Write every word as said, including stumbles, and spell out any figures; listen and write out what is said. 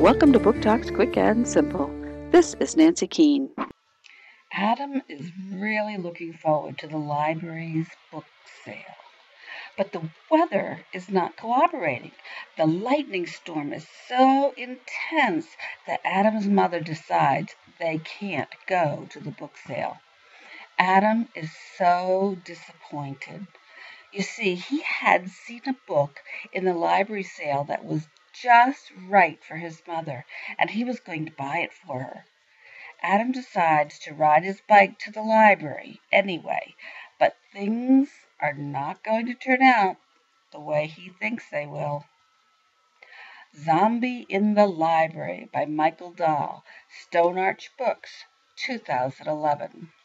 Welcome to Book Talks Quick and Simple. This is Nancy Keene. Adam is really looking forward to the library's book sale. But the weather is not cooperating. The lightning storm is so intense that Adam's mother decides they can't go to the book sale. Adam is so disappointed. You see, he had seen a book in the library sale that was just right for his mother, and he was going to buy it for her. Adam decides to ride his bike to the library anyway, but things are not going to turn out the way he thinks they will. Zombie in the Library by Michael Dahl, Stone Arch Books, two thousand eleven.